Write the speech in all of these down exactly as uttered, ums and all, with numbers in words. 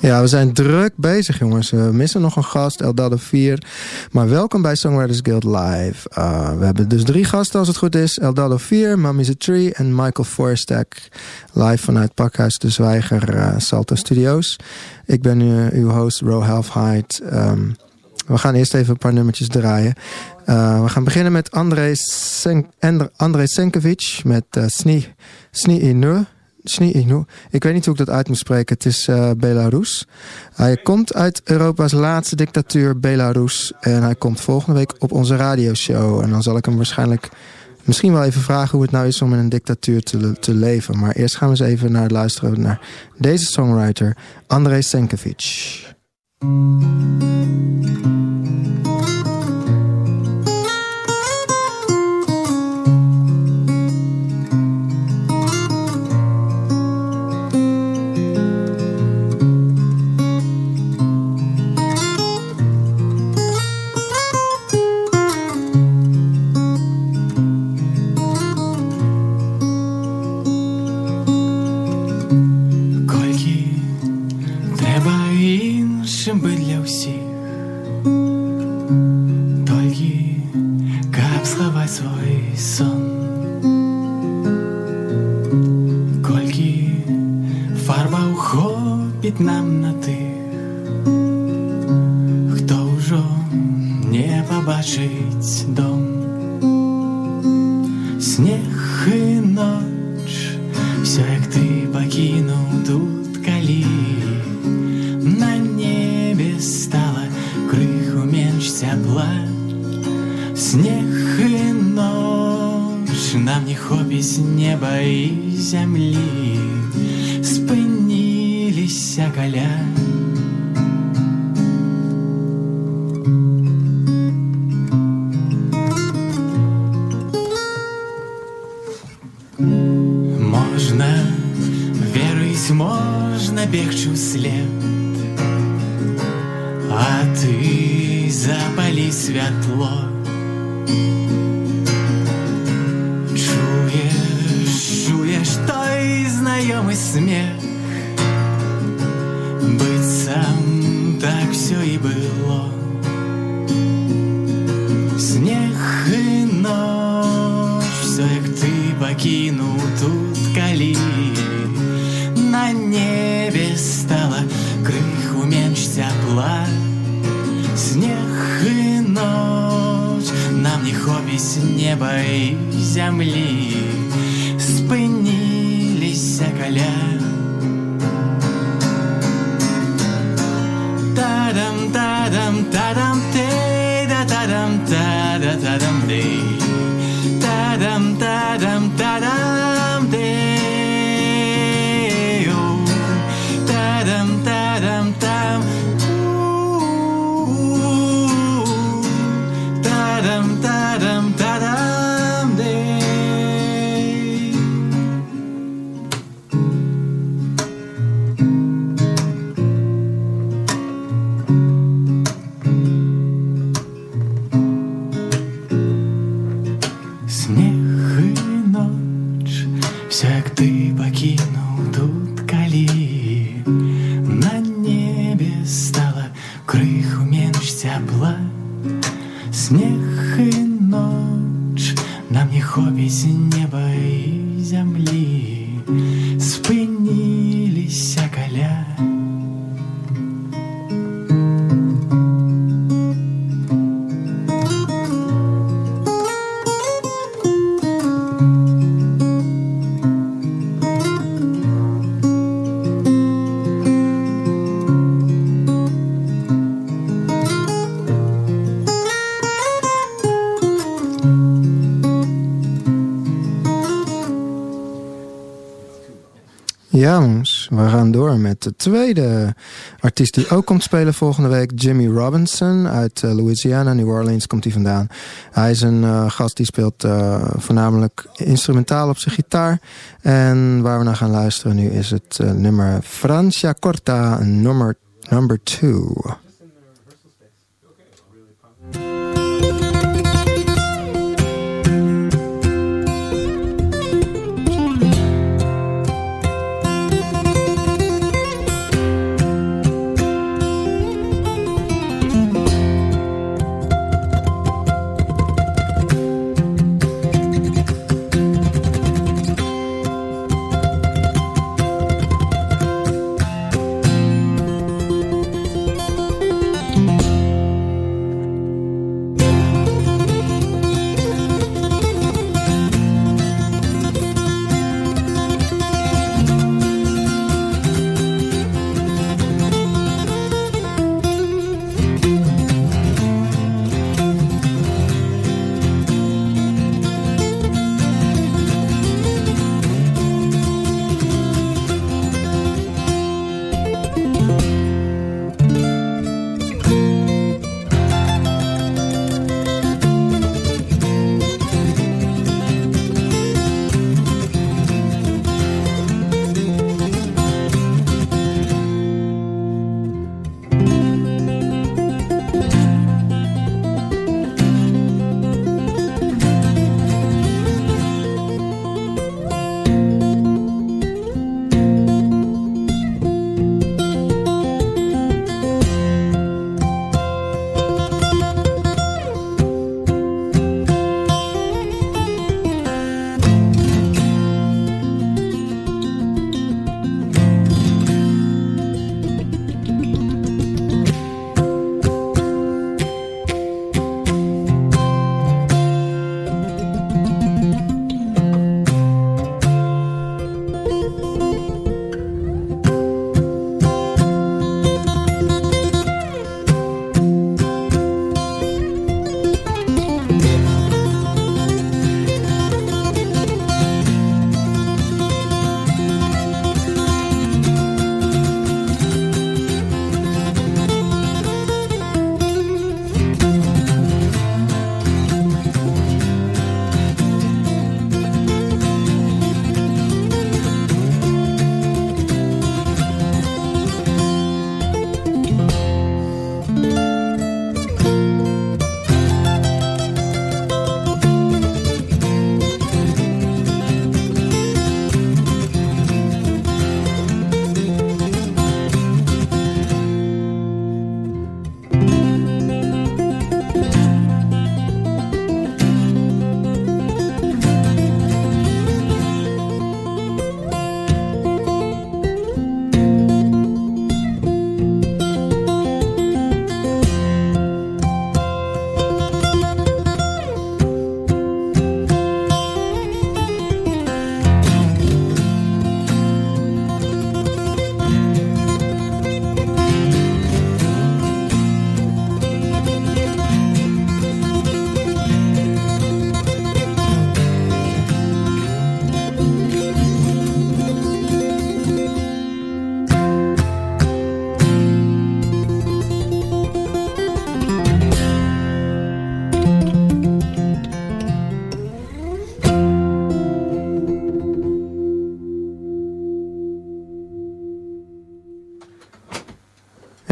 Ja, we zijn druk bezig, jongens. We missen nog een gast, Eldado vier. Maar welkom bij Songwriters Guild Live. Uh, we hebben dus drie gasten als het goed is. Eldado vier, Mami's a Tree en Michael Forstak. Live vanuit Pakhuis de Zwijger, uh, Salto Studios. Ik ben uh, uw host, Ro Halfheid. Um, we gaan eerst even een paar nummertjes draaien. Uh, we gaan beginnen met Andrei Sen- Andrei Senkovic met uh, Sni, Sni Inu. Sni Inu. Ik weet niet hoe ik dat uit moet spreken. Het is uh, Belarus. Hij komt uit Europa's laatste dictatuur, Belarus. En hij komt volgende week op onze radioshow. En dan zal ik hem waarschijnlijk misschien wel even vragen hoe het nou is om in een dictatuur te, te leven. Maar eerst gaan we eens even naar luisteren naar deze songwriter, Andrei Senkovic. Нам на тих, хто вже не побачить дом. Сніг і ноч, все як ти покинув тут калі. На небі стало криху менш тепла. Сніг і ноч, нам не хопить неба і землі. Спинилися коля. Можна вірить, можна бігчи вслед, а ти запали світло. Чуєш, чуєш той знайомий сміх. Быть сам, так все и было. Снег и ночь, все як ты покинул тут калі. На небе стало криху менш тепла. Снег и ночь, нам не хопить неба и земли. Спинилися коля. Tadam tadam tadam te da tadam tada tadam de tadam tadam tadam de oh tadam tadam tam tadam tadam tadam de. Снег и ночь, нам не хопить неба и земли. Спинилися коля. Ja, jongens, we gaan door met de tweede artiest die ook komt spelen volgende week. Jimmy Robinson uit uh, Louisiana, New Orleans komt hij vandaan. Hij is een uh, gast die speelt uh, voornamelijk instrumentaal op zijn gitaar. En waar we naar gaan luisteren nu is het uh, nummer Francia Corta, nummer number two.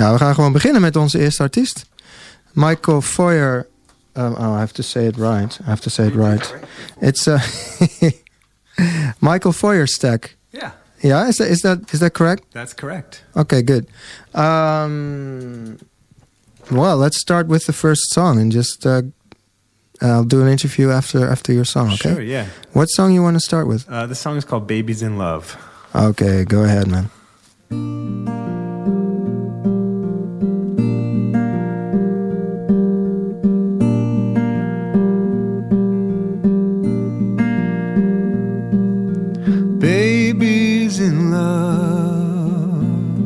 Ja, we gaan gewoon beginnen met onze eerste artiest. Michael Foyer. Um, oh, I have to say it right. I have to say it right. It's uh, Michael Feuerstack. Yeah. Yeah, is that is that is that correct? That's correct. Okay, good. Um, well, let's start with the first song and just uh, I'll do an interview after after your song. Okay. Sure. Yeah. What song you want to start with? Uh, the song is called "Babies in Love." Okay, go ahead, man. Babies in love,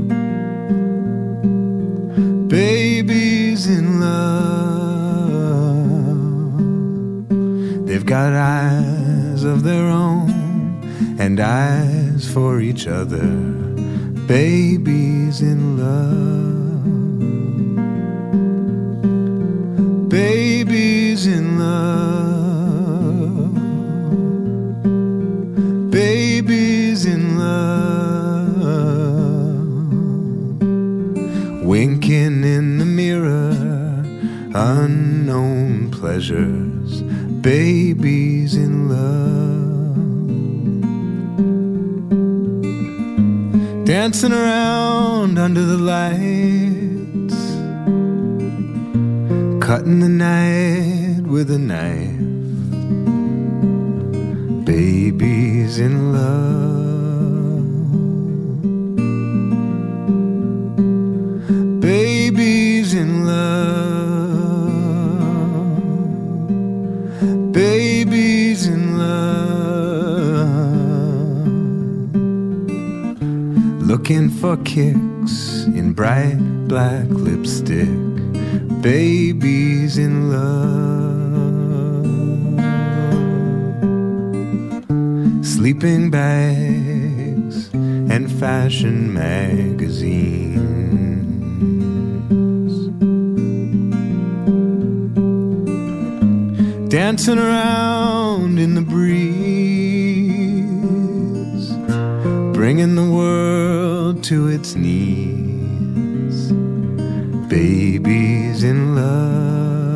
babies in love. They've got eyes of their own and eyes for each other. Babies in love, babies in love, babies in love, winking in the mirror, unknown pleasures, babies in love, dancing around under the lights, cutting the night with a knife. Babies in love, babies in love, babies in love, looking for kicks in bright black lipstick, babies in love. Sleeping bags and fashion magazines, dancing around in the breeze, bringing the world to its knees, babies in love.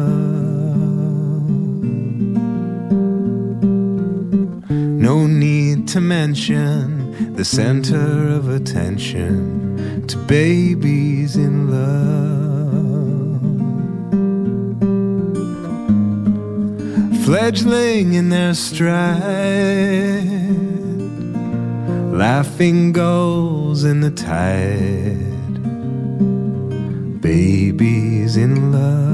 No need to mention the center of attention to babies in love. Fledgling in their stride, laughing gulls in the tide, babies in love.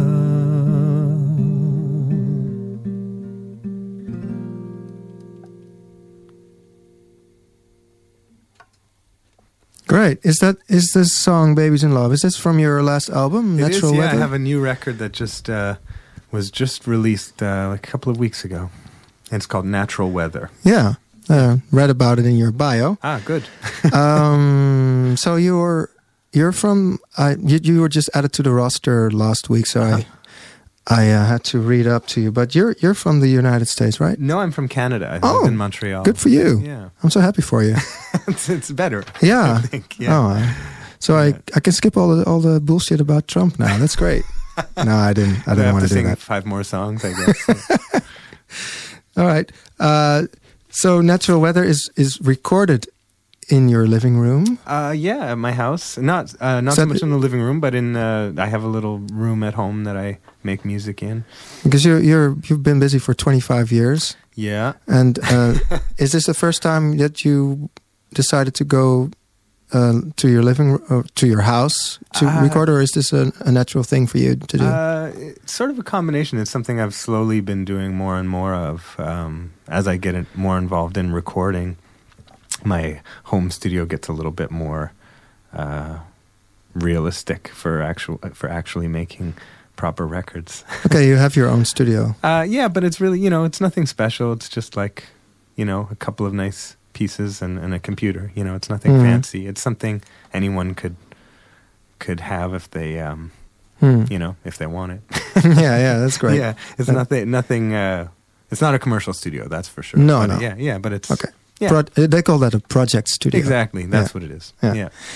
Great. Is that is this song "Babies in Love"? Is this from your last album, It Natural is, yeah, Weather? I have a new record that just uh, was just released uh, like a couple of weeks ago. And it's called Natural Weather. Yeah, uh, read about it in your bio. Ah, good. um, so you're you're from uh, you, you were just added to the roster last week, so Uh-huh. I I uh, had to read up to you. But you're you're from the United States, right? No, I'm from Canada. I Oh, live in Montreal. Good for you. Yeah. I'm so happy for you. it's, it's better. Yeah. I think. Yeah. Oh, I- so I I can skip all the all the bullshit about Trump now. That's great. No, I didn't. I I didn't have want to to do sing that. five more songs, I guess. All right. Uh, so Natural Weather is is recorded in your living room. uh, yeah, at my house. Not uh, not So so much th- in the living room, but in uh, I have a little room at home that I make music in. Because you're you're you've been busy for twenty-five years, Yeah. and uh, is this the first time that you decided to go uh, to your living room, uh, to your house to Uh, record, or is this a, a natural thing for you to do? Uh, it's sort of a combination. It's something I've slowly been doing more and more of um, as I get it more involved in recording. My home studio gets a little bit more uh, realistic for actual for actually making proper records. Okay, you have your own studio. Uh, yeah, but it's really, you know, it's nothing special. It's just like, you know, a couple of nice pieces and, and a computer. You know, it's nothing Mhm. fancy. It's something anyone could could have if they, um, Hmm. you know, if they want it. yeah, yeah, that's great. Yeah, it's Yeah. nothing. Nothing. Uh, it's not a commercial studio, that's for sure. No, But, no. Yeah, yeah, but it's Okay. Yeah. Pro- they call that a project studio. exactly. That's Yeah. what it is. Yeah. Yeah.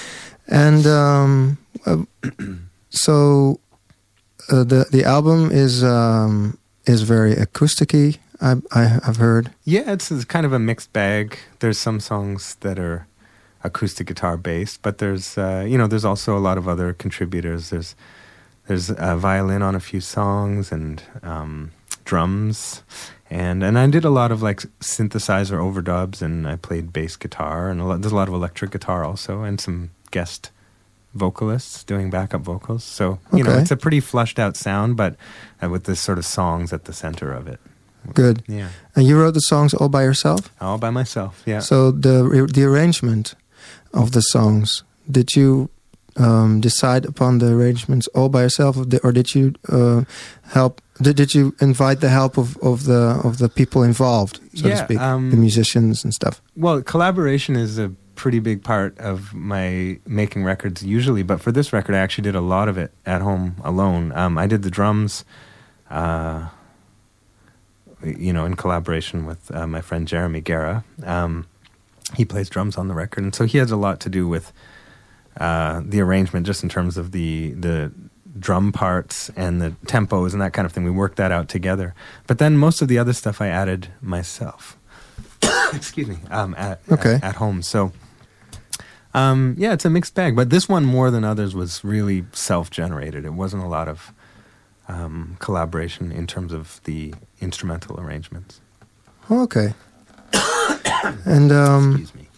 And um, uh, so uh, the the album is um, is very acousticy. I, I I've heard. Yeah, it's, it's kind of a mixed bag. There's some songs that are acoustic guitar based, but there's uh, you know there's also a lot of other contributors. There's there's a violin on a few songs and um, drums, and and I did a lot of like synthesizer overdubs, and I played bass guitar, and a lot, there's a lot of electric guitar also, and some guest vocalists doing backup vocals. So you Okay. know it's a pretty flushed out sound, but uh, with this sort of songs at the center of it. Good. Yeah, And you wrote the songs all by yourself? all by myself. Yeah. So the the arrangement of the songs, did you um, decide upon the arrangements all by yourself, or did, or did you uh, help? Did, did you invite the help of, of the of the people involved, so Yeah, to speak, um, the musicians and stuff? Well, collaboration is a pretty big part of my making records usually, but for this record, I actually did a lot of it at home alone. Um, I did the drums, uh, you know, in collaboration with uh, my friend Jeremy Guerra. Um, he plays drums on the record, and so he has a lot to do with uh, the arrangement, just in terms of the the drum parts and the tempos and that kind of thing. We worked that out together. But then most of the other stuff I added myself. Excuse me. Um, at, Okay. at, at home. So, um, yeah, it's a mixed bag. But this one, more than others, was really self-generated. It wasn't a lot of um, collaboration in terms of the instrumental arrangements. Okay. And um, Excuse me.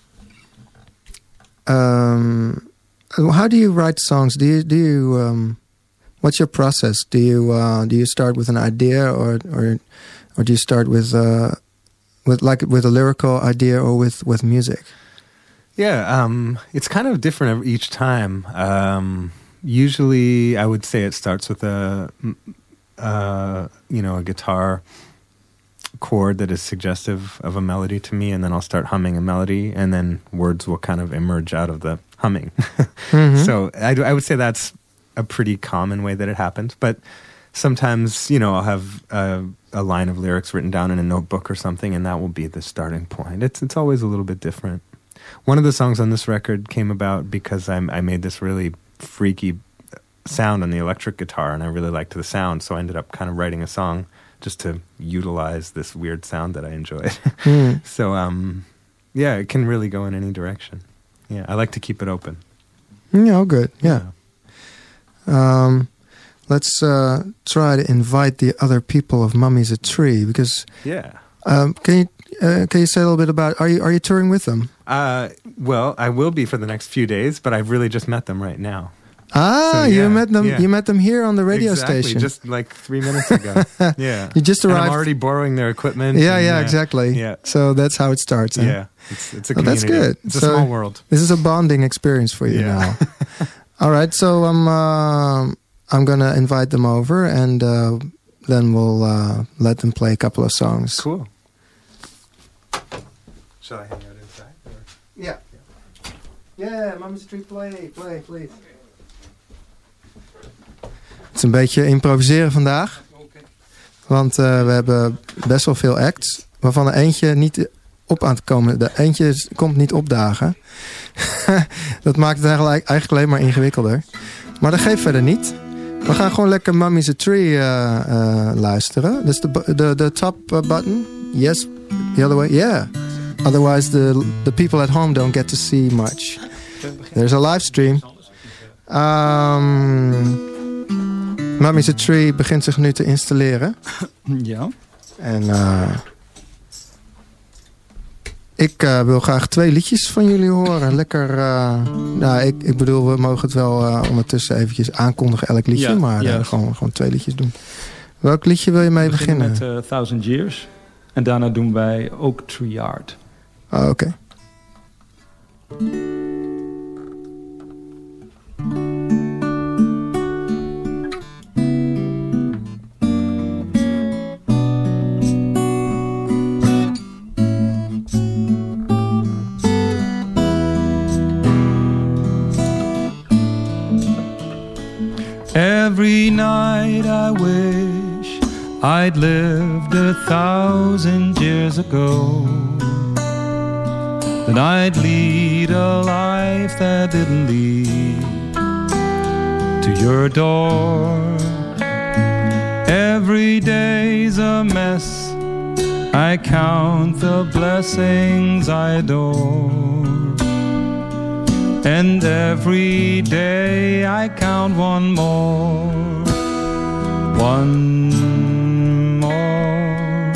um, how do you write songs? Do you do you um, what's your process? Do you uh, do you start with an idea, or or or do you start with uh, with like with a lyrical idea, or with, with music? Yeah, um, it's kind of different every- each time. Um, usually, I would say it starts with a, uh, you know, a guitar chord that is suggestive of a melody to me, and then I'll start humming a melody, and then words will kind of emerge out of the humming. Mhm. So I, I would say that's a pretty common way that it happens. But sometimes, you know, I'll have a, a line of lyrics written down in a notebook or something, and that will be the starting point. It's it's always a little bit different. One of the songs on this record came about because I, I made this really freaky sound on the electric guitar, and I really liked the sound, so I ended up kind of writing a song just to utilize this weird sound that I enjoyed. Mm. So, um, yeah, it can really go in any direction. Yeah, I like to keep it open. Yeah, oh, good. Yeah. Um, let's uh, try to invite the other people of Mummy's a Tree, because Yeah. um, can you uh, can you say a little bit about, are you are you touring with them? Uh, well, I will be for the next few days, but I've really just met them right now. Ah, So, you yeah, met them. yeah. You met them here on the radio exactly, station. just like three minutes ago. Yeah. You just And arrived. I'm already borrowing their equipment. yeah, and, yeah, uh, exactly. Yeah. So that's how it starts. Huh? Yeah. It's, it's a Oh, that's community. good. It's a So- small world. This is a bonding experience for you Yeah. now. All right, so I'm um I'm gonna invite them over, and uh, then we'll uh, let them play a couple of songs. Cool. Shall I hang out inside? Or? Yeah. Yeah, Mummy's Tree, play, play, please. Het is een beetje improviseren vandaag. Want uh, we hebben best wel veel acts, waarvan er eentje niet op aan te komen. De eentje is- komt niet opdagen. Dat maakt het eigenlijk, eigenlijk alleen maar ingewikkelder. Maar dat geeft verder niet. We gaan gewoon lekker Mummy's a Tree uh, uh, luisteren. Dus de, bu- de, de top uh, button. Yes, the other way. Yeah. Otherwise the, the people at home don't get to see much. There's a live stream. Um, Mummy's a Tree begint zich nu te installeren. Ja. En uh, ik uh, wil graag twee liedjes van jullie horen. Lekker, uh, nou, ik, ik bedoel, we mogen het wel uh, ondertussen eventjes aankondigen, elk liedje. Ja, maar uh, juist. gewoon, gewoon twee liedjes doen. Welk liedje wil je mee We beginnen beginnen? met uh, Thousand Years. En daarna doen wij Oak Tree Yard. Oh, oké. Okay. Every night I wish I'd lived a thousand years ago. then I'd lead a life that didn't lead to your door. Every day's a mess, I count the blessings I adore. And every day I count one more, one more.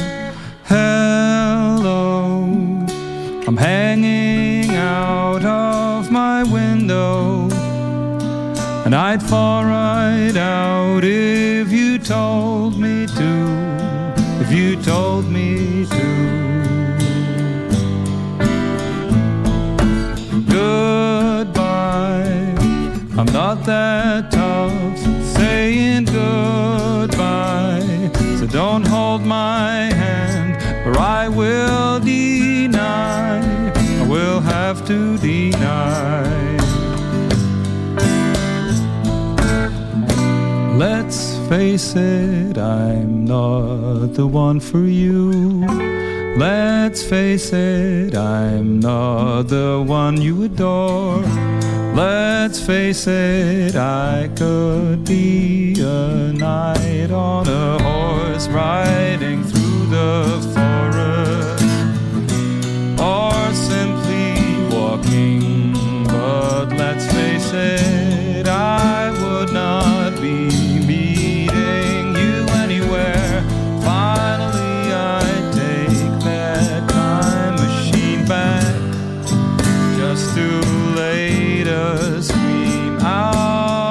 Hello, I'm hanging out of my window, and I'd fall right out if you told me to, if you told me to. Goodbye, I'm not that tough, saying goodbye, so don't hold my hand, or I will deny, I will have to deny. Let's face it, I'm not the one for you. Let's face it, I'm not the one you adore. Let's face it, I could be a knight on a horse riding through the forest, or simply walking. But let's face it, I would not be meeting you anywhere. Finally, I take that time machine back, just too late to scream out.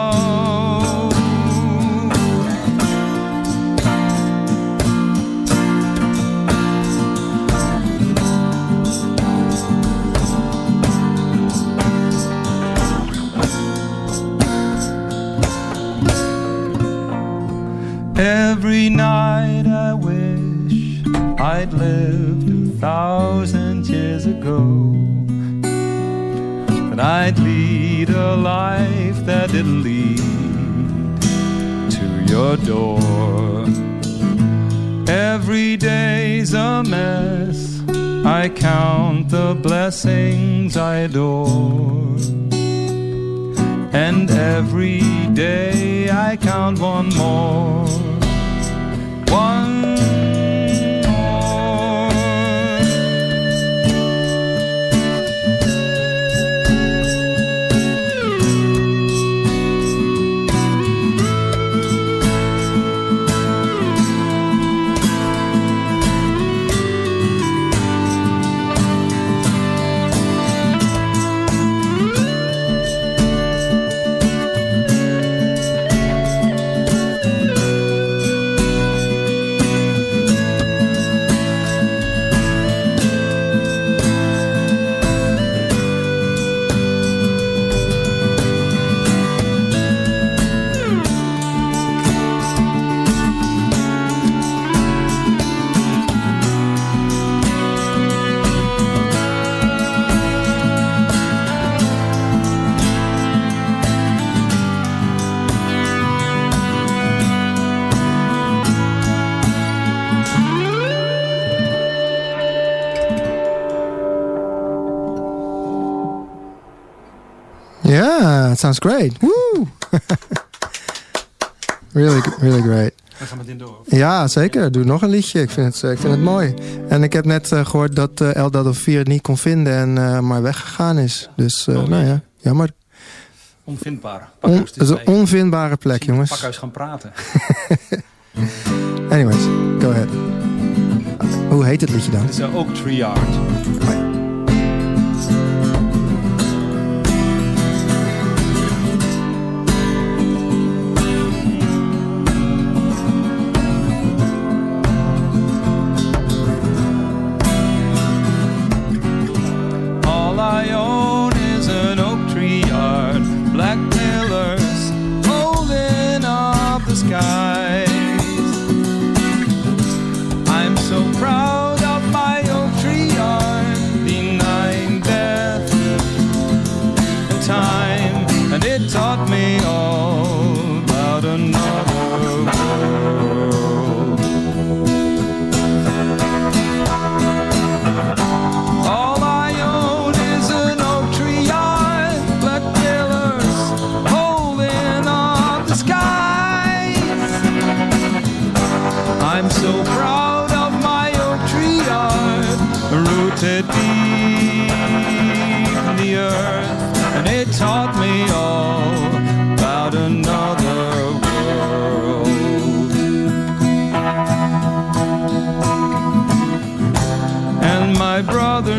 Every night I wish I'd lived a thousand years ago, and I'd lead a life that didn't lead to your door. Every day's a mess, I count the blessings I adore. And every day I count one more, one more. Yeah, it sounds great. Woo! really, really great. Dan gaan we dit door. Ja, zeker. Doe nog een liedje. Ik vind het, ik vind het mooi. En ik heb net uh, gehoord dat uh, El Dado vier het niet kon vinden en uh, maar weggegaan is. Dus, uh, oh, nou ja, jammer. Onvindbaar. On, het is een onvindbare plek, jongens. Pakhuis gaan praten. Anyways, go ahead. Hoe heet het liedje dan? Het is uh, Oak Tree Yard. Oh, ja. Taught me all about another world. All I own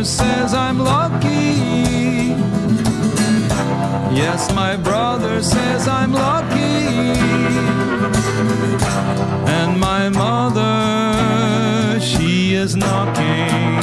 says I'm lucky. Yes, my brother says I'm lucky. And my mother, she is knocking.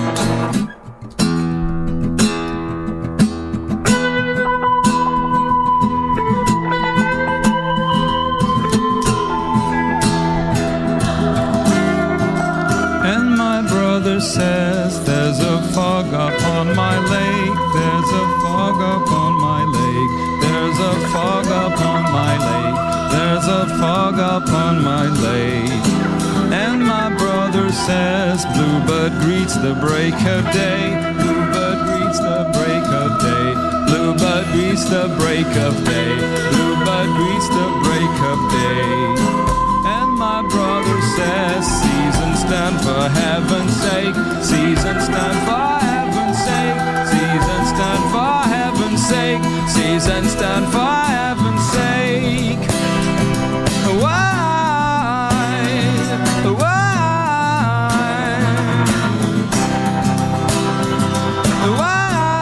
Says there's a fog upon my lake, there's a fog upon my lake, there's a fog upon my lake, there's a fog upon my lake. And my brother says bluebird greets the break of day, bluebird greets the break of day, bluebird greets the break of day, bluebird greets the break of day. My brother says, seasons stand for heaven's sake, seasons stand for heaven's sake, seasons stand for heaven's sake, seasons stand for heaven's sake. Why? Why? Why?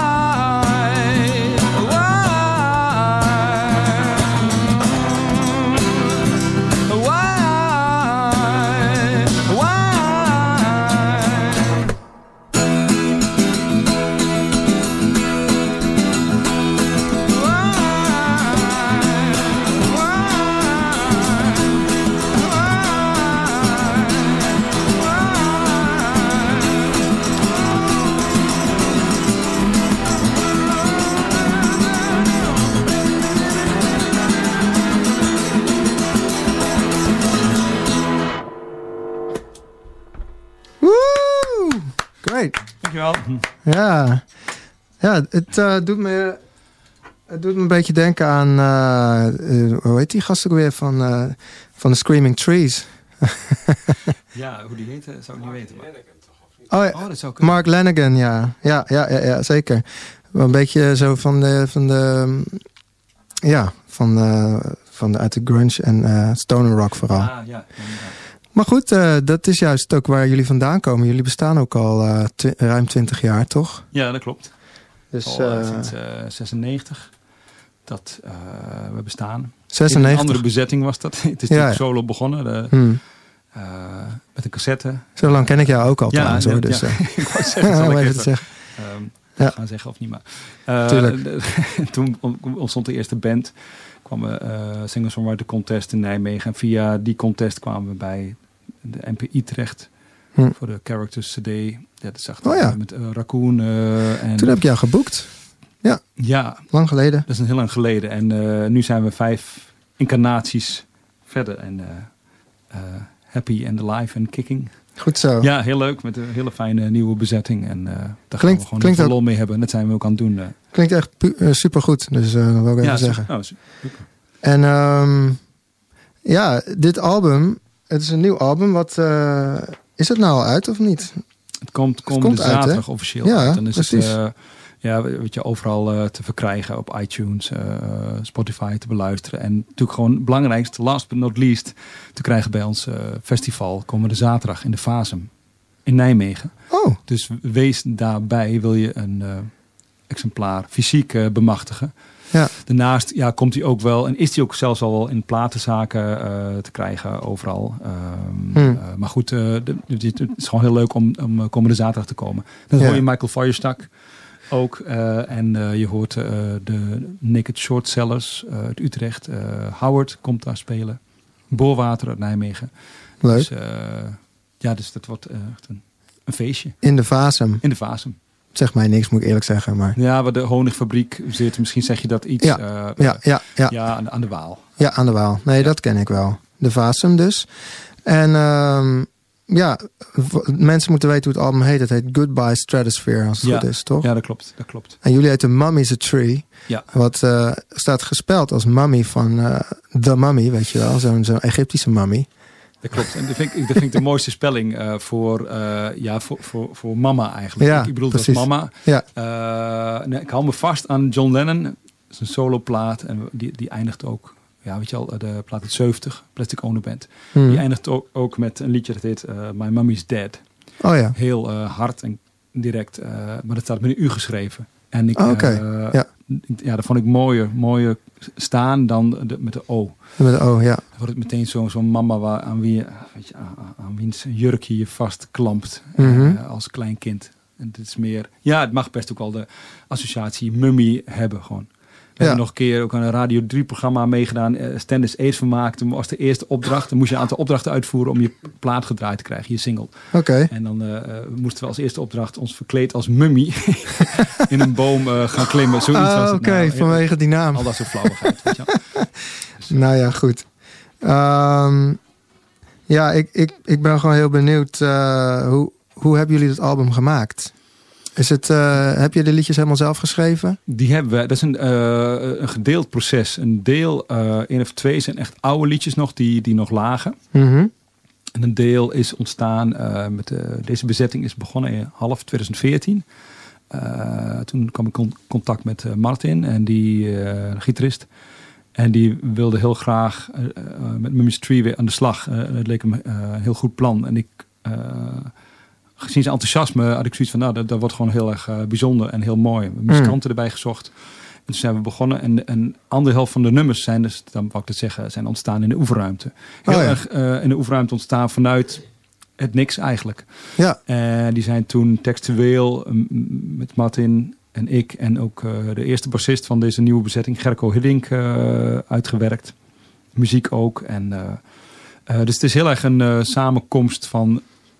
Dankjewel. Ja, ja het, uh, doet me, het doet me een beetje denken aan... Uh, uh, hoe heet die gast ook weer van, uh, van de Screaming Trees? Ja, hoe die heet, zou ik niet weten. Maar... Oh, ja. Oh, dat zou kunnen. Mark Lanegan, ja. Ja, ja, ja, ja zeker. Wel een beetje zo van de... Van de ja, van, uh, van de, uit de grunge en uh, stoner rock vooral. Ah, ja, ja, ja. Maar goed, uh, dat is juist ook waar jullie vandaan komen. Jullie bestaan ook al uh, twi- ruim twintig jaar, toch? Ja, dat klopt. Dus, al uh, uh, sinds uh, zesennegentig dat uh, we bestaan. zesennegentig In een andere bezetting was dat. Het is ja, natuurlijk ja. solo begonnen. De, hmm. uh, met een cassette. Zo lang ken ik jou ook al ja, trouwens, ja, hoor. Dus, ja. uh, ik wou zeggen, zal om ik even even te zeggen. Um, Ja. gaan zeggen of niet, maar. Uh, Tuurlijk. de, toen ontstond de eerste band. Kwam we uh, Singer-Songwriter Contest in Nijmegen. En via die contest kwamen we bij de N P I terecht. Hm. Voor de Characters C D. Ja, dat zag Oh ja. met uh, Raccoon. Uh, en Toen heb ik jou geboekt. Ja, ja, lang geleden. dat is een heel lang geleden. En uh, nu zijn we vijf incarnaties verder. En uh, uh, happy and alive and kicking. Goed zo. Ja, heel leuk. Met een hele fijne nieuwe bezetting. En uh, daar Klinkt- gaan we gewoon heel klinkt veel ook- lol mee hebben. En dat zijn we ook aan het doen. Uh. Klinkt echt pu- uh, supergoed. Dus uh, dat wil ik even ja, zeggen. super. Oh, super. En um, ja, dit album, het is een nieuw album. Wat, uh, is het nou al uit of niet? Het komt komende komt uit, zaterdag hè? officieel Ja, uit. Dan is precies. het uh, ja, weet je, overal uh, te verkrijgen op iTunes, uh, Spotify te beluisteren. En natuurlijk gewoon het belangrijkste, last but not least, te krijgen bij ons uh, festival komende zaterdag in de Fasum in Nijmegen. Oh, Dus wees daarbij, wil je een uh, exemplaar fysiek uh, bemachtigen. ja. Daarnaast ja, komt hij ook wel, en is hij ook zelfs al wel in platenzaken uh, te krijgen overal. Um, Hmm. uh, maar goed, uh, de, de, het is gewoon heel leuk om, om uh, komende zaterdag te komen. Dan Ja. hoor je Michael Feuerstak ook. Uh, en uh, je hoort uh, de Naked Shortsellers uh, uit Utrecht. Uh, Howard komt daar spelen. Boorwater uit Nijmegen. Leuk. Dus, uh, ja, dus dat wordt uh, echt een, een feestje. In de Fasum. In de Fasum. Zegt mij niks, moet ik eerlijk zeggen. Maar... Ja, waar de honigfabriek zit. Misschien zeg je dat iets. Ja, uh, Ja, ja, ja. ja aan, de, aan de Waal. Ja, aan de Waal. Nee, Ja. dat ken ik wel. De Fasum dus. En um, ja, v- mensen moeten weten hoe het album heet. Het heet Goodbye Stratosphere, als het Ja. goed is, toch? Ja, dat klopt. Dat klopt. En jullie heten Mummy's a Tree. Ja. Wat uh, staat gespeld als mummy van uh, The Mummy, weet je wel. Zo'n zo'n Egyptische mummy. Dat klopt. En dat vind ik, dat vind ik de mooiste spelling uh, voor, uh, ja, voor, voor, voor mama eigenlijk. Ja, ik bedoel, precies. dat is mama. Ja. Uh, nee, ik hou me vast aan John Lennon. Dat is een soloplaat. En die, die eindigt ook, ja, weet je al, de plaat uit zeventig, Plastic Ono Band. Hmm. Die eindigt ook, ook met een liedje dat heet uh, My Mummy's Dead. Oh ja. Heel uh, hard en direct. Uh, maar dat staat met een U geschreven. En ik, oh, okay. uh, ja. ja, dat vond ik mooier, mooier staan dan de, met de O. Met de O, ja. Dan wordt het meteen zo'n zo mama waar, aan wie weet je, aan, aan wiens jurkje je vastklampt mm-hmm. uh, als klein kind. En dit is meer, ja, het mag best ook wel de associatie mummie hebben gewoon. We ja. hebben nog een keer ook aan een Radio drie programma meegedaan. Uh, Standards Ace vermaakt. Toen was de eerste opdracht. Dan moest je een aantal opdrachten uitvoeren om je plaat gedraaid te krijgen. Je single. Oké. Okay. En dan uh, moesten we als eerste opdracht ons verkleed als mummie in een boom uh, gaan klimmen. Zoiets ah, was het. Oké, okay, nou, vanwege die naam. Al dat soort flauwigheid. Weet je wel. Dus, nou ja, goed. Um, ja, ik, ik, ik ben gewoon heel benieuwd. Uh, hoe, hoe hebben jullie dat album gemaakt? Is het, uh, heb je de liedjes helemaal zelf geschreven? Die hebben we. Dat is een, uh, een gedeeld proces. Een deel, uh, één of twee zijn echt oude liedjes nog, die, die nog lagen. Mm-hmm. En een deel is ontstaan, uh, met uh, deze bezetting is begonnen in half twintig veertien. Uh, toen kwam ik in contact met uh, Martin, en die uh, de gitarist. En die wilde heel graag uh, uh, met Mummy's Tree weer aan de slag. Uh, het leek hem uh, een heel goed plan. En ik... Uh, Gezien zijn enthousiasme had ik zoiets van, nou, dat, dat wordt gewoon heel erg uh, bijzonder en heel mooi. We hebben muzikanten mm. erbij gezocht. En toen zijn we begonnen. En, en anderhalf van de nummers zijn, dus dan wou ik het zeggen, zijn ontstaan in de oefenruimte. Heel oh, ja. erg uh, in de oefenruimte ontstaan vanuit het niks eigenlijk. Ja. En die zijn toen textueel um, met Martin en ik en ook uh, de eerste bassist van deze nieuwe bezetting, Gerco Hiddink, uh, uitgewerkt. Muziek ook. En, uh, uh, dus het is heel erg een uh, samenkomst van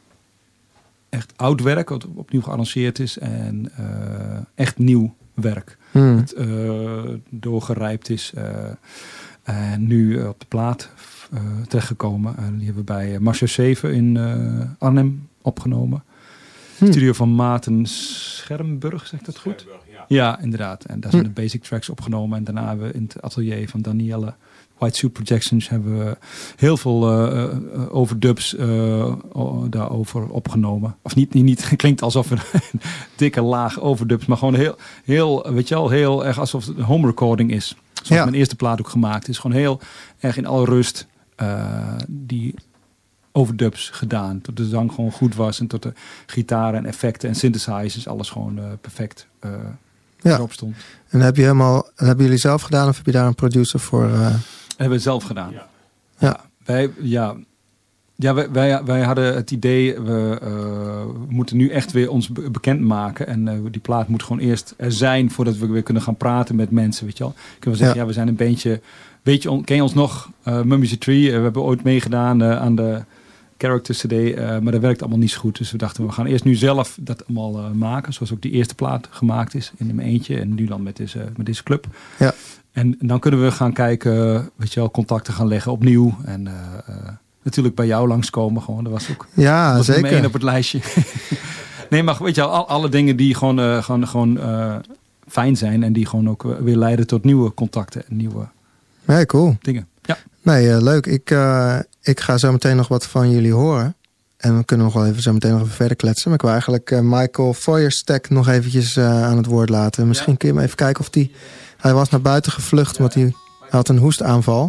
echt oud werk, wat opnieuw gearrangeerd is. En uh, echt nieuw werk. Hmm. Het uh, doorgerijpt is. Uh, en nu uh, op de plaat uh, terechtgekomen. Uh, die hebben we bij Marcia zeven in uh, Arnhem opgenomen. Hmm. Studio van Maarten Schermburg, zeg ik dat goed? Ja. ja, inderdaad. En daar zijn hmm. de basic tracks opgenomen. En daarna hebben we in het atelier van Danielle White Suit Projections hebben we heel veel uh, uh, overdubs uh, daarover opgenomen. Of niet, niet, niet klinkt alsof een dikke laag overdubs, maar gewoon heel, heel, weet je wel, heel erg alsof het een home recording is. Zoals ja. mijn eerste plaat ook gemaakt is. Gewoon heel erg in alle rust uh, die overdubs gedaan. Tot de zang gewoon goed was en tot de gitaren en effecten en synthesizers, alles gewoon uh, perfect uh, ja. erop stond. En heb je helemaal, hebben jullie zelf gedaan of heb je daar een producer voor? Uh... Hebben we zelf gedaan. Ja. Ja. Ja, wij, ja, ja wij, wij, wij hadden het idee, we uh, moeten nu echt weer ons be- bekend maken. En uh, die plaat moet gewoon eerst er zijn voordat we weer kunnen gaan praten met mensen. Weet je wel? Kunnen we zeggen, ja, ja we zijn een bandje. Weet je, ken je ons nog? Uh, Mummy's Tree. Uh, we hebben ooit meegedaan uh, aan de Character C D. Uh, maar dat werkt allemaal niet zo goed. Dus we dachten, we gaan eerst nu zelf dat allemaal uh, maken. Zoals ook die eerste plaat gemaakt is in mijn eentje. En nu dan met deze, met deze club. Ja. En, en dan kunnen we gaan kijken, weet je wel, contacten gaan leggen opnieuw. En uh, uh, natuurlijk bij jou langskomen gewoon. Dat was ook ja, dat was zeker. nummer één op het lijstje. Nee, maar weet je wel, al, alle dingen die gewoon, uh, gewoon, gewoon uh, fijn zijn. En die gewoon ook uh, weer leiden tot nieuwe contacten en nieuwe nee, cool. dingen. Ja. Nee, uh, leuk. Ik, uh, ik ga zo meteen nog wat van jullie horen. En we kunnen nog wel even zo meteen nog even verder kletsen. Maar ik wil eigenlijk uh, Michael Feuersteck nog eventjes uh, aan het woord laten. Misschien ja. kun je hem even kijken of die... Hij was naar buiten gevlucht, want hij, hij had een hoestaanval.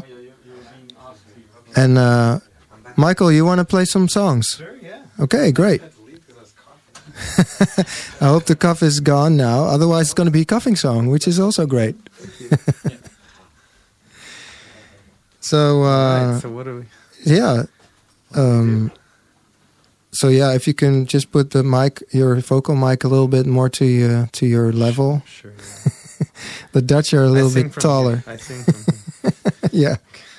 En uh, Michael, you want to play some songs? Sure, yeah. Okay, great. I hope the cough is gone now. Otherwise it's going to be a coughing song, which is also great. so, uh, right, so what do we... Yeah. Um, so yeah, if you can just put the mic, your vocal mic a little bit more to uh, to your level. Sure, yeah. The Dutch are a little bit taller. Here. I sing from here. Yeah.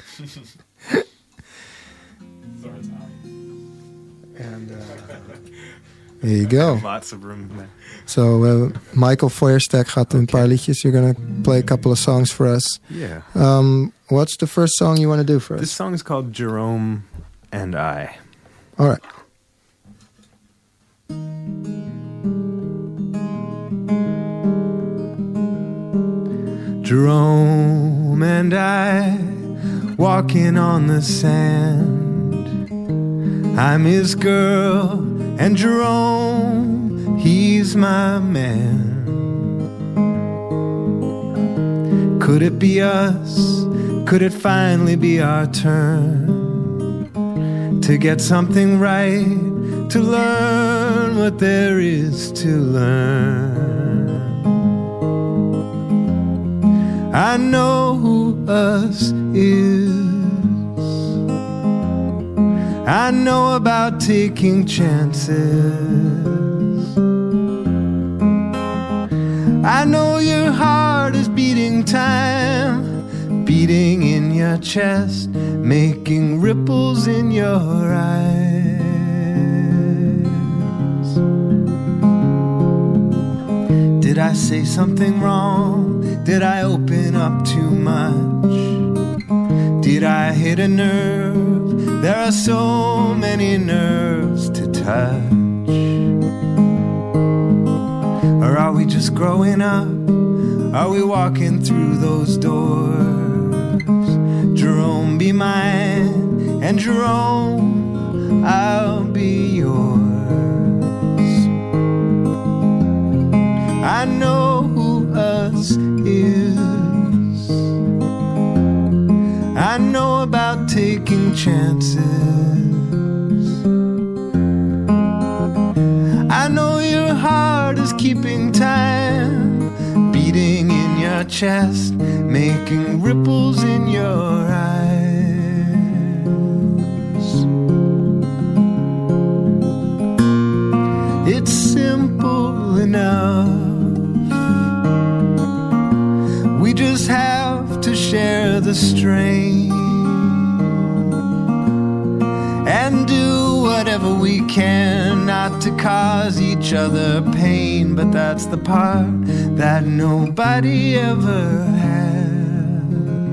And uh, there you go. Lots of room there. So uh, Michael Feuersteck gaat een paar liedjes. You're gonna play a couple of songs for us. Yeah. Um, what's the first song you want to do for us? This song is called Jerome and I. All right. Jerome and I walking on the sand. I'm his girl and Jerome, he's my man. Could it be us? Could it finally be our turn to get something right, to learn what there is to learn. I know who us is. I know about taking chances. I know your heart is beating time, beating in your chest, making ripples in your eyes. Did I say something wrong? Did I open up too much? Did I hit a nerve? There are so many nerves to touch. Or are we just growing up? Are we walking through those doors? Jerome, be mine, and Jerome, I'll be yours. I know who us is. I know about taking chances. I know your heart is keeping time, beating in your chest, making ripples in your eyes. It's simple enough. We just have to share the strain and do whatever we can not to cause each other pain. But that's the part that nobody ever has.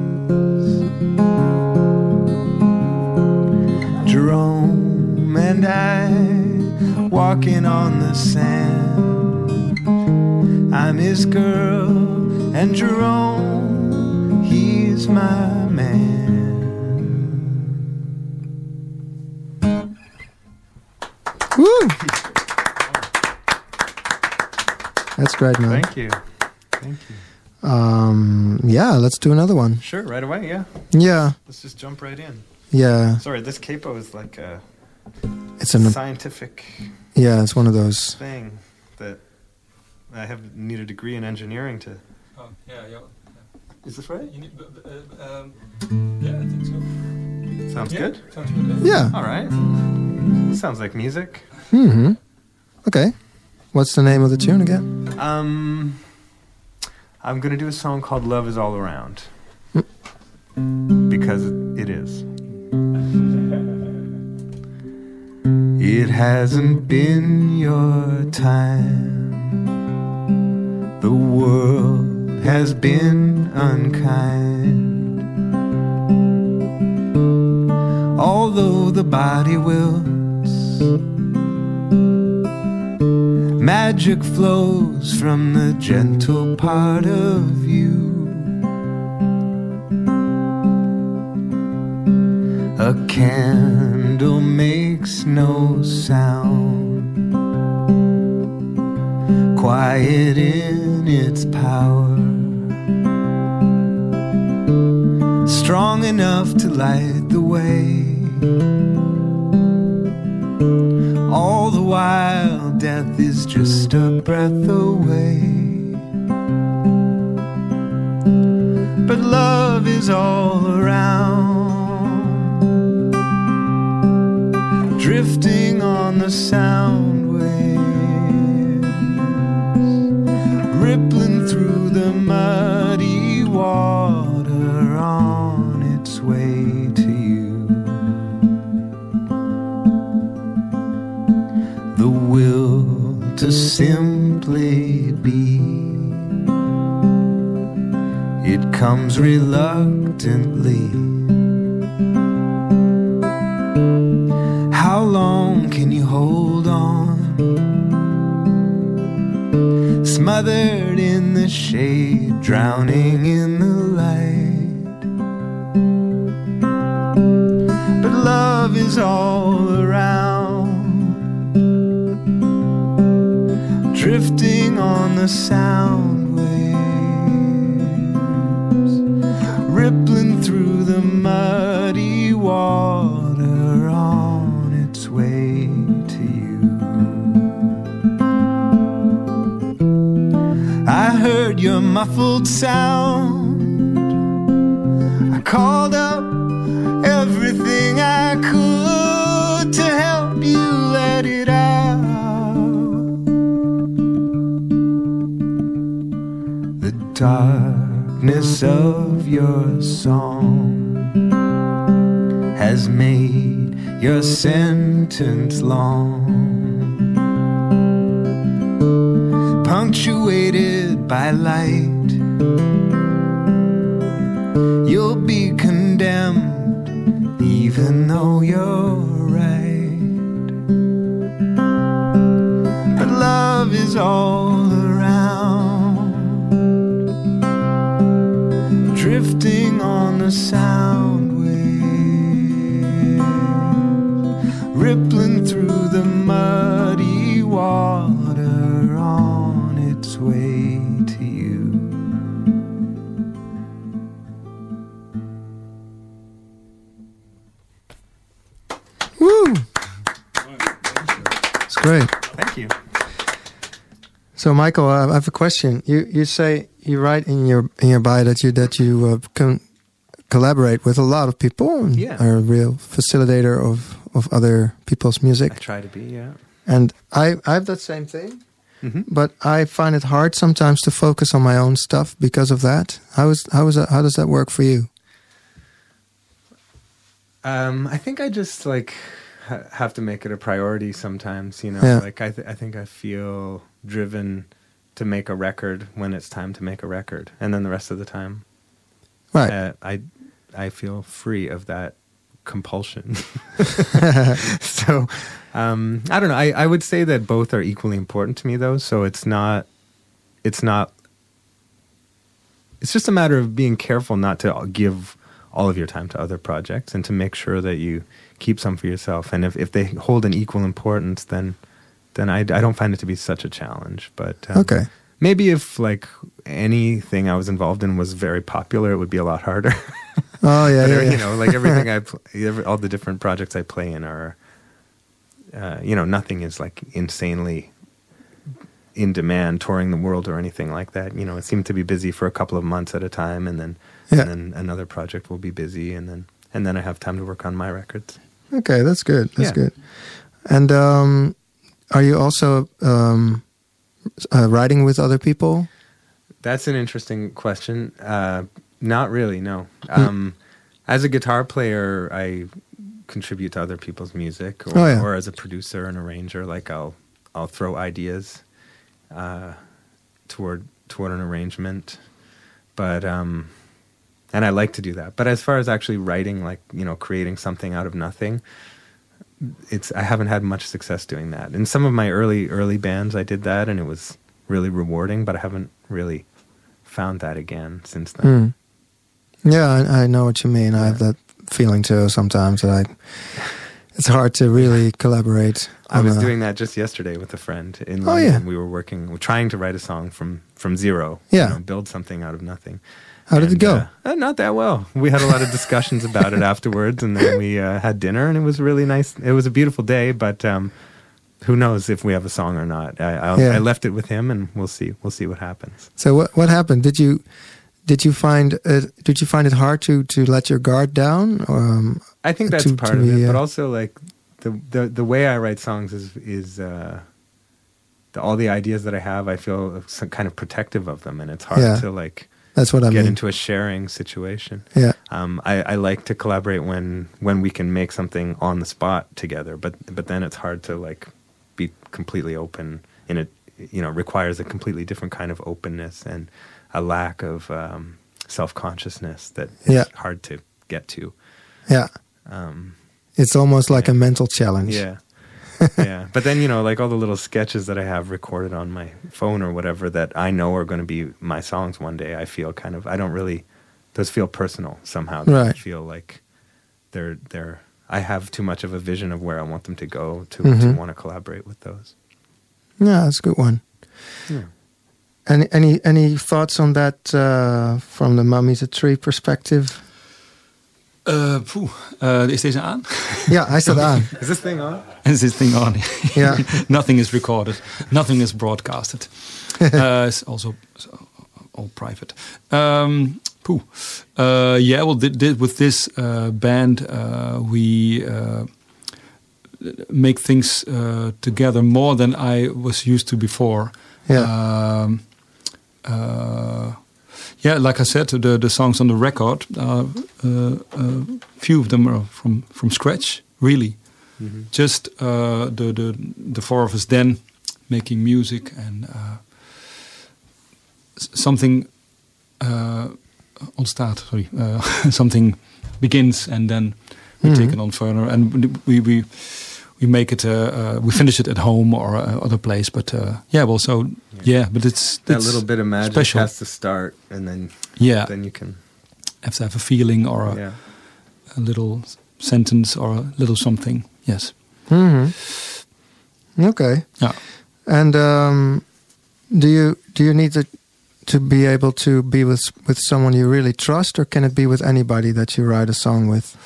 Jerome and I walking on the sand. I'm his girl and Jerome, he's my man. Woo! That's great, man. Thank you. Thank you. Um, yeah, let's do another one. Sure, right away, yeah. Yeah, Let's just jump right in. yeah. Sorry, this capo is like a It's an scientific yeah. It's one of those. thing that I have need a degree in engineering to. Oh, yeah, yeah. Is this right? You need, uh, um, yeah, I think so. Sounds Yeah, good. Sounds good. Yeah. All right. Sounds like music. Mm-hmm. Okay. What's the name of the tune again? Um, I'm gonna do a song called "Love Is All Around" because it is. It hasn't been your time. The world has been unkind. Although the body wilts, magic flows from the gentle part of you. A candle makes no sound, quiet in its power, strong enough to light the way. All the while death is just a breath away. But love is all around, drifting on the sound waves, rippling through the muddy water on its way to you. The will to simply be, it comes reluctantly. How long can you hold on, smothered in the shade, drowning in the light? But love is all around, drifting on the sound waves, rippling through the muddy water on its way to you. a muffled sound. I called up everything I could to help you let it out. The darkness of your song has made your sentence long, punctuated by light. You'll be condemned even though you're right. But love is all around, drifting on the sound wave, rippling through the muddy water on its way to you. Woo! It's great. Thank you. So, Michael, uh, I have a question. You you say you write in your in your bio that you that you uh, can collaborate with a lot of people. And Yeah. are a real facilitator of of other people's music. I try to be, yeah. And I I have that same thing, Mm-hmm. but I find it hard sometimes to focus on my own stuff because of that. How is how is that, how does that work for you? Um, I think I just like ha- have to make it a priority sometimes, you know. Yeah. Like I, th- I think I feel driven to make a record when it's time to make a record, and then the rest of the time, Right. uh, I, I feel free of that compulsion. So, um, I don't know. I, I would say that both are equally important to me, though. So it's not, it's not. It's just a matter of being careful not to give all of your time to other projects, and to make sure that you keep some for yourself. And if, if they hold an equal importance, then then I, I don't find it to be such a challenge. But um, Okay. maybe if like anything I was involved in was very popular, it would be a lot harder. Oh yeah, But, yeah, yeah. you know, like everything I, pl- every, all the different projects I play in are, uh, you know, nothing is like insanely in demand, touring the world or anything like that. You know, it seemed to be busy for a couple of months at a time, and then Yeah. and then another project will be busy, and then and then I have time to work on my records. Okay, that's good. That's Yeah. good. And um, are you also um, uh, writing with other people? That's an interesting question. Uh, not really, no. Um, as a guitar player, I contribute to other people's music, or, Oh, yeah. or as a producer and arranger, like I'll I'll throw ideas uh, toward toward an arrangement, but um, and I like to do that. But as far as actually writing, like, you know, creating something out of nothing, it's I haven't had much success doing that. In some of my early early bands, I did that, and it was really rewarding. But I haven't really found that again since then. Mm. Yeah, I, I know what you mean. I have that feeling too sometimes that I. It's hard to really collaborate. I on was a- doing that just yesterday with a friend in Oh, London. yeah. We were working, we're trying to write a song from from zero. Yeah. you know, build something out of nothing. How did it And, go? Uh, uh, not that well. We had a lot of discussions about it afterwards, and then we uh, had dinner, and it was really nice. It was a beautiful day, but um, who knows if we have a song or not? I, I'll, Yeah. I left it with him, and we'll see. We'll see what happens. So what what happened? Did you did you find it, did you find it hard to to let your guard down? Um, I think that's To- part to of be, it, but uh, also like the the the way I write songs is is uh, the, all the ideas that I have. I feel some kind of protective of them, and it's hard Yeah. to like. that's what I get mean. into a sharing situation. Yeah. Um, I, I like to collaborate when when we can make something on the spot together, but but then it's hard to like be completely open in it. You know, requires a completely different kind of openness and a lack of um, self consciousness that is Yeah. hard to get to. Yeah. Um, It's almost like Yeah. a mental challenge. yeah. Yeah, but then, you know, like all the little sketches that I have recorded on my phone or whatever that I know are going to be my songs one day, I feel kind of, I don't really, those feel personal somehow. They Right. feel like they're, they're, I have too much of a vision of where I want them to go to, Mhm. to want to collaborate with those. Yeah, that's a good one. Yeah. Any any any thoughts on that uh, from the Mummy's a Tree perspective? Uh, poeh, uh, is deze aan? Ja, hij staat aan. Is this thing on? Is this thing on? Yeah. Nothing is recorded. Nothing is broadcasted. uh, it's also all private. Um, pooh. Uh, yeah, well, did, did with this uh, band, uh, we uh, make things uh, together more than I was used to before. Yeah. Um, uh, yeah, like I said, the the songs on the record, uh, uh, uh, few of them are from from scratch, really. Mm-hmm. Just uh, the the the four of us then making music, and uh, something uh, ontstaat. Sorry, uh, something begins, and then we mm-hmm. take it on further, and we we we make it. Uh, uh, we finish it at home or uh, other place. But uh, yeah, well, so yeah, yeah but it's that it's little bit of magic special. Has to start, and then yeah, then you can have to have a feeling or a, yeah. a little sentence or a little something. Yes. Mm-hmm. Okay. Yeah. And um, do you do you need to to be able to be with with someone you really trust, or can it be with anybody that you write a song with?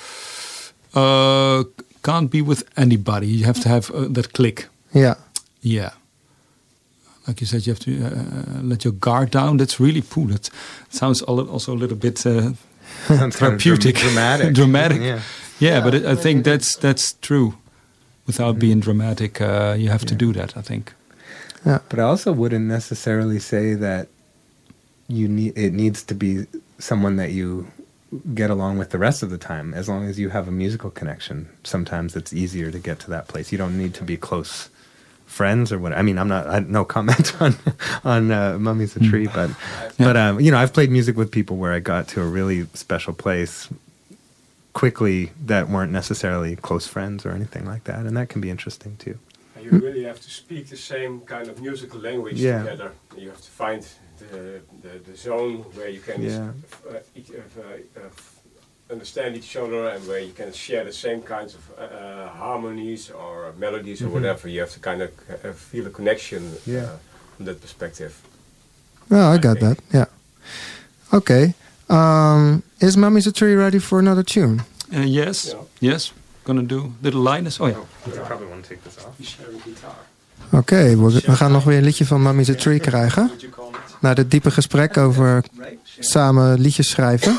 Uh, can't be with anybody. You have to have uh, that click. Yeah. Yeah. Like you said, you have to uh, let your guard down. That's really poo. That sounds also a little bit uh, therapeutic, kind of dramatic. dramatic. Yeah. Yeah, yeah, but it, I think that's that's true. Without mm-hmm. being dramatic, uh, you have yeah. to do that, I think. Yeah. But I also wouldn't necessarily say that you need it needs to be someone that you get along with the rest of the time. As long as you have a musical connection, sometimes it's easier to get to that place. You don't need to be close friends or what. I mean, I'm not. I no comment on on uh, Mummy's a Tree, but yeah. but um, you know, I've played music with people where I got to a really special place quickly that weren't necessarily close friends or anything like that, and that can be interesting too. You really have to speak the same kind of musical language yeah. together. You have to find the the, the zone where you can yeah. uh, each, uh, uh, understand each other, and where you can share the same kinds of uh, uh, harmonies or melodies mm-hmm. or whatever. You have to kind of uh, feel a connection yeah. uh, from that perspective. Oh, I, I got think. that. Yeah. Okay. Um, is Mummy's a Tree ready for another tune? Uh, yes. Yeah. Yes. Gonna do Little Linus. Oh ja. Oh, I probably want to take this off. Oké, okay, we, we gaan nog weer een liedje van Mummy's a Tree krijgen. Na dit diepe gesprek over samen liedjes schrijven.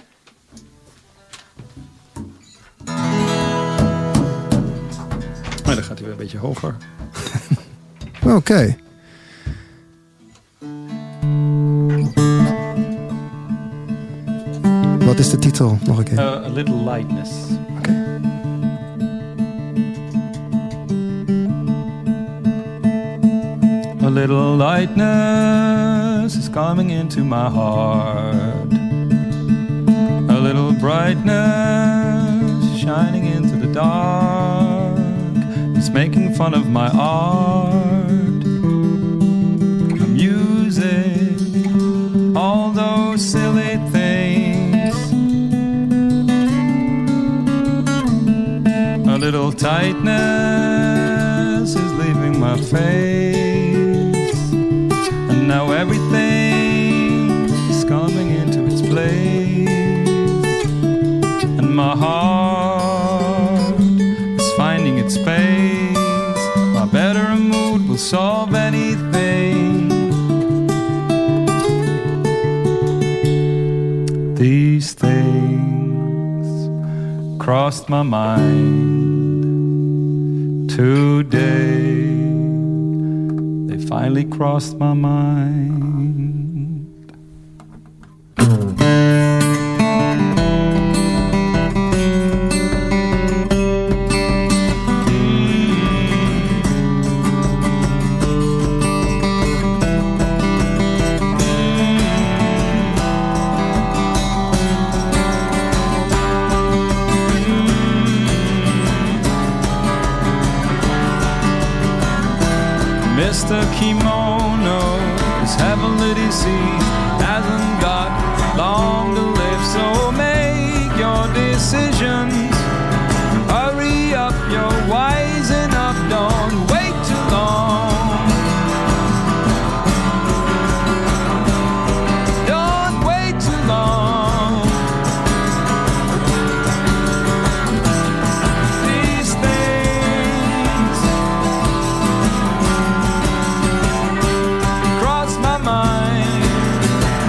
Maar dan gaat hij weer een beetje hoger. Oké. Okay. Wat is de titel? Nog een keer. Uh, a Little Lightness. Oké. Okay. A little lightness is coming into my heart. A little brightness shining into the dark. It's making fun of my art. I'm using all those silly things. A little tightness is leaving my face. And now everything is coming into its place. And my heart is finding its space. My better mood will solve anything. These things crossed my mind today. They finally crossed my mind. Mister Kimono is heavily deceived, hasn't got long to live, so make your decisions. Hurry up, you're wise enough, don't wait too long. Don't wait too long. These things cross my mind.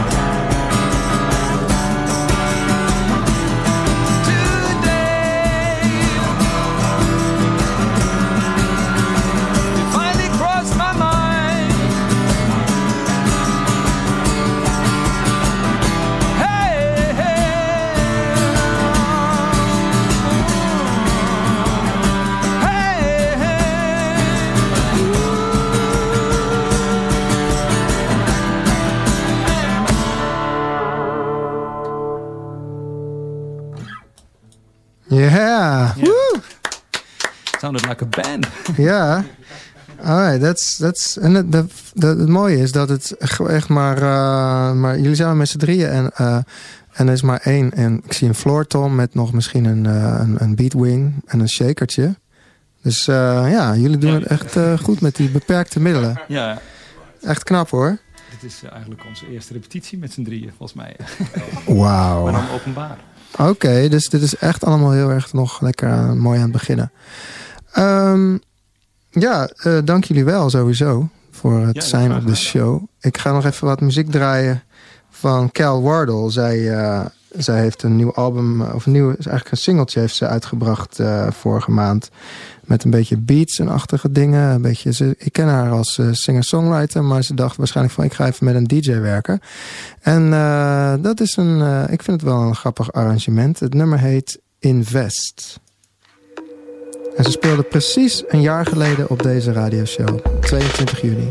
Yeah. Yeah. Woo! Sounded like a band. Ja. Alright, that's, that's, en het, de, de, het mooie is dat het echt maar... Uh, maar jullie zijn maar met z'n drieën en, uh, en er is maar één. En ik zie een floor tom met nog misschien een, uh, een, een beatwing en een shakertje. Dus uh, ja, jullie doen het echt uh, goed met die beperkte middelen. Ja. Echt knap hoor. Dit is uh, eigenlijk onze eerste repetitie met z'n drieën, volgens mij. Wauw. Maar dan openbaar. Oké, okay, dus dit is echt allemaal heel erg nog lekker uh, mooi aan het beginnen. Um, ja, uh, dank jullie wel sowieso voor het ja, zijn op de show. Ik ga nog even wat muziek draaien van Cal Wardle. Zij, uh, zij heeft een nieuw album, of een nieuw, is eigenlijk een singeltje heeft ze uitgebracht uh, vorige maand. Met een beetje beats en achtige dingen. Een beetje, ze, ik ken haar als uh, singer-songwriter, maar ze dacht waarschijnlijk van ik ga even met een D J werken. En uh, dat is een, uh, ik vind het wel een grappig arrangement. Het nummer heet Invest. En ze speelde precies een jaar geleden op deze radioshow. tweeëntwintig juni.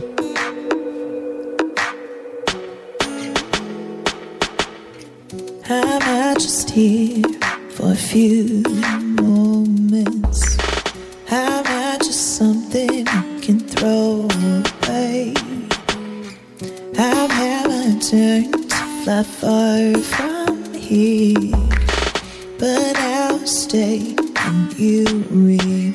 I'm just here for a few moments. I'm just something you can throw away. I'm having turned to fly far from here, but I'll stay and you remain.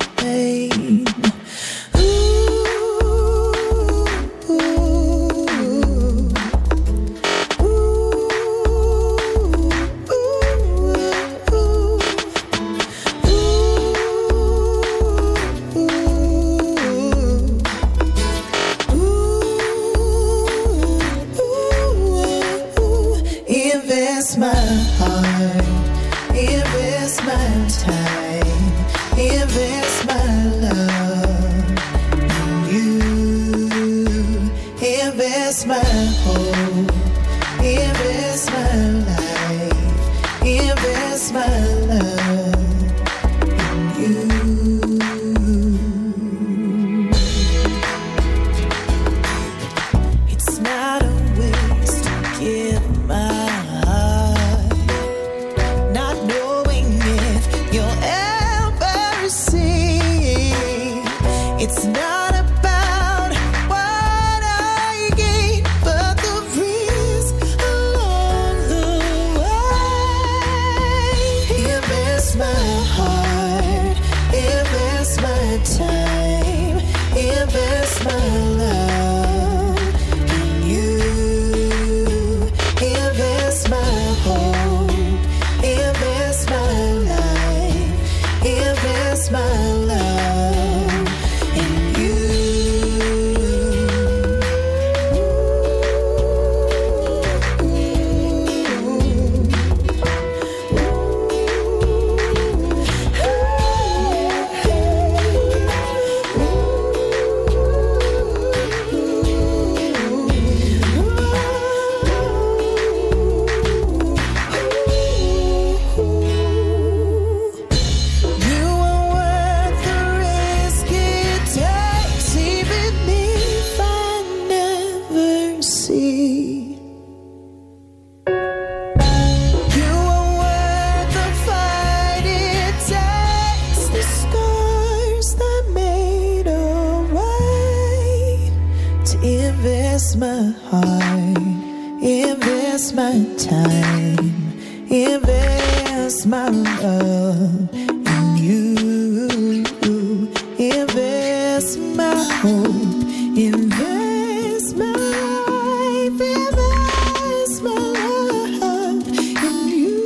Invest my heart, invest my time, invest my love in you. Invest my hope, invest my life, invest my love in you. It's not a waste to give my it's not about what I gain, but the risk along the way. Invest my heart, invest my time, invest my love in you. Invest my hope, invest my life, invest my love. Invest my heart, invest my time, invest my love in you. Invest my hope, invest my life, invest my love in you.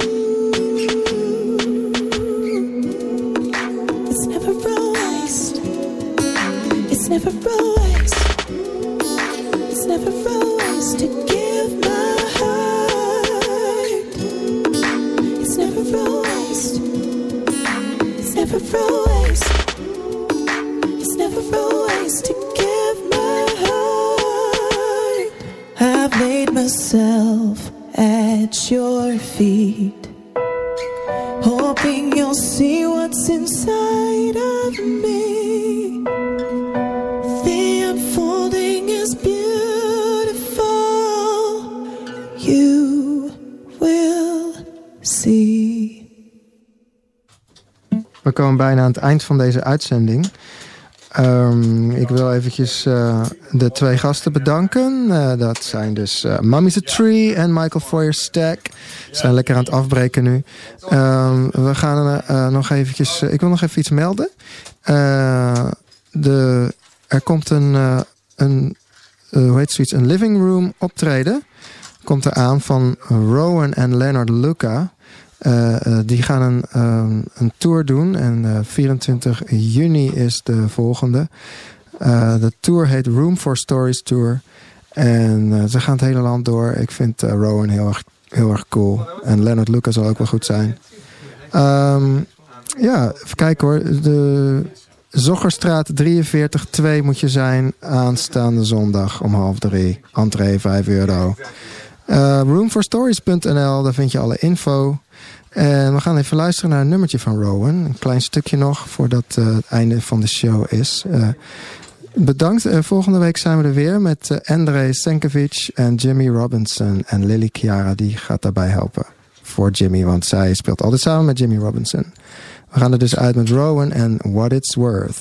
It's never a waste, it's never a waste. It's never a waste to give my heart. It's never a waste. It's never a waste. It's never a waste to give my heart. I've laid myself at your feet, hoping you'll see what's inside of me. The unfolding is beautiful. You will see. We komen bijna aan het eind van deze uitzending. Um, ik wil eventjes uh, de twee gasten bedanken. Uh, dat zijn dus uh, Mummy's a Tree en Michael Feuerstack. Ze zijn lekker aan het afbreken nu. Um, we gaan uh, uh, nog eventjes... Uh, ik wil nog even iets melden. Uh, de, er komt een... Uh, een uh, hoe heet zoiets? Een living room optreden. Komt er aan van Rowan en Leonard Luca. Uh, uh, die gaan een, um, een tour doen. En uh, vierentwintig juni is de volgende. Uh, de tour heet Room for Stories Tour. En uh, ze gaan het hele land door. Ik vind uh, Rowan heel erg, heel erg cool. En Leonard Luca zal ook wel goed zijn. Um, ja, even kijken hoor. De Zoggerstraat drieënveertig twee moet je zijn. Aanstaande zondag om half drie. Entree vijf euro. Uh, room for stories punt n l, daar vind je alle info. En we gaan even luisteren naar een nummertje van Rowan. Een klein stukje nog voordat uh, het einde van de show is. Uh, bedankt. Uh, volgende week zijn we er weer met uh, Andrei Senkovic en Jimmy Robinson. En Lily Chiara die gaat daarbij helpen voor Jimmy. Want zij speelt altijd samen met Jimmy Robinson. We gaan er dus uit met Rowan en What It's Worth.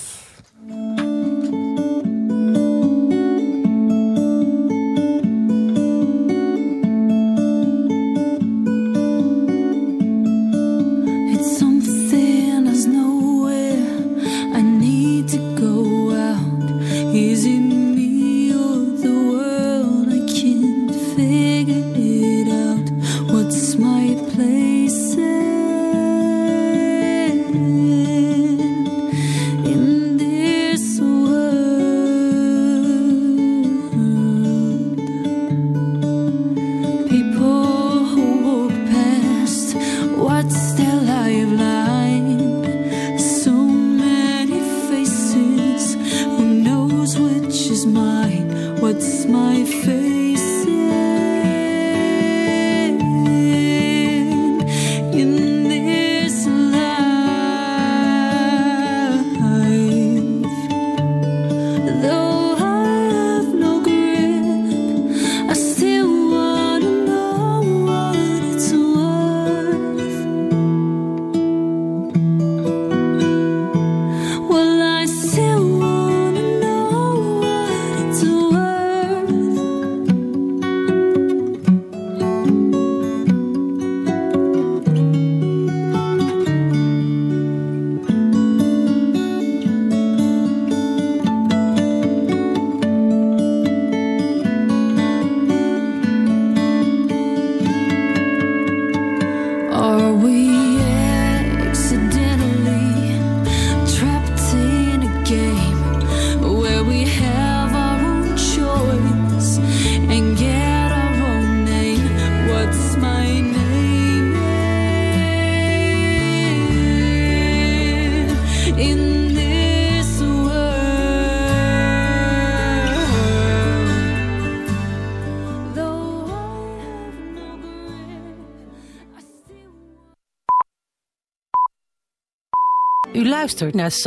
U luistert naar